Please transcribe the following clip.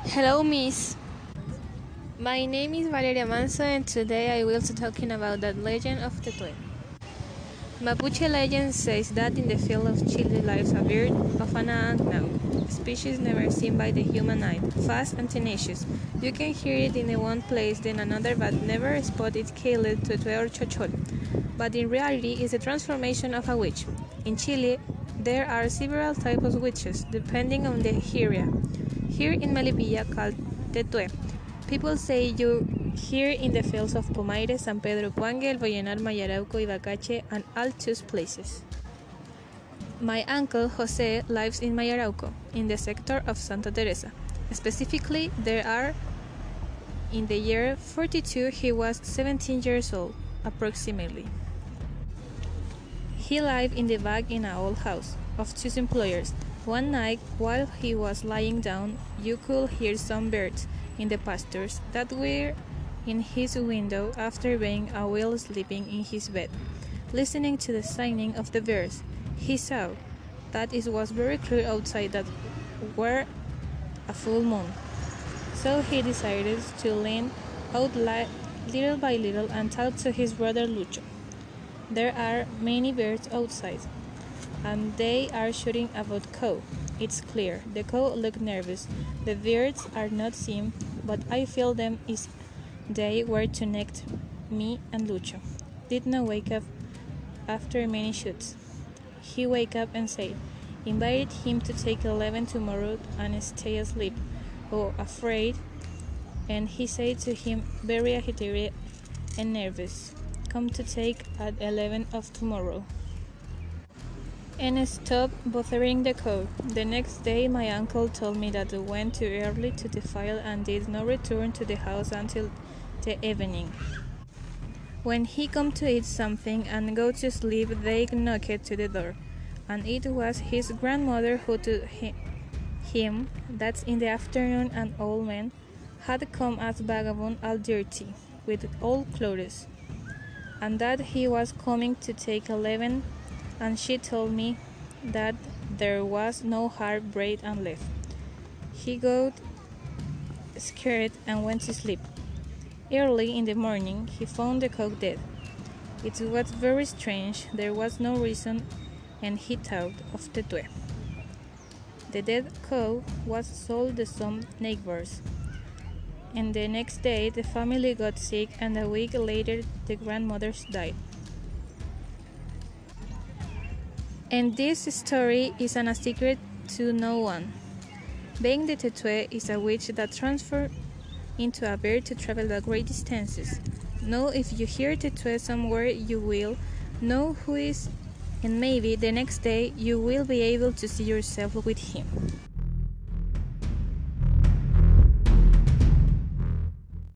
Hello, Miss. My name is Valeria Manso, and today I will be talking about the legend of Tetué. Mapuche legend says that in the field of Chile lives a bird of an unknown species never seen by the human eye, fast and tenacious. You can hear it in one place, then another, but never spot it called Tetué or Chochol. But in reality, it's a transformation of a witch. In Chile, there are several types of witches, depending on the area. Here in Melipilla, called Tetué, people say you hear in the fields of Pomaire, San Pedro Cuangue, El Vallenar, Mayarauco, Ibacache, and all those places. My uncle Jose lives in Mayarauco, in the sector of Santa Teresa. Specifically, there are in the year 42 he was 17 years old, approximately. He lived in the back in an old house of two employers. One night, while he was lying down, you could hear some birds in the pastures that were in his window after being a while sleeping in his bed. Listening to the singing of the birds, he saw that it was very clear outside that were a full moon. So he decided to lean out little by little and talk to his brother Lucho. There are many birds outside, and they are shooting about cow. It's clear. The cow look nervous. The birds are not seen, but I feel them is they were to next me and Lucho. Did not wake up after many shoots. He wake up and said, invited him to take 11 tomorrow and stay asleep. Oh, afraid. And he said to him, very agitated and nervous, come to take at 11 of tomorrow. And stop bothering the cow. The next day my uncle told me that they went too early to the field and did not return to the house until the evening. When he come to eat something and go to sleep, they knocked to the door, and it was his grandmother who told him that in the afternoon an old man had come as vagabond all dirty, with old clothes, and that he was coming to take 11, and she told me that there was no hard bread and left. He got scared and went to sleep. Early in the morning, he found the cow dead. It was very strange, there was no reason, and he thought of Tetué. The dead cow was sold to some neighbors, and the next day the family got sick, and a week later the grandmothers died. And this story is a secret to no one. Being the Tetué is a witch that transforms into a bird to travel the great distances. Now if you hear Tetué somewhere, you will know who is, and maybe the next day you will be able to see yourself with him.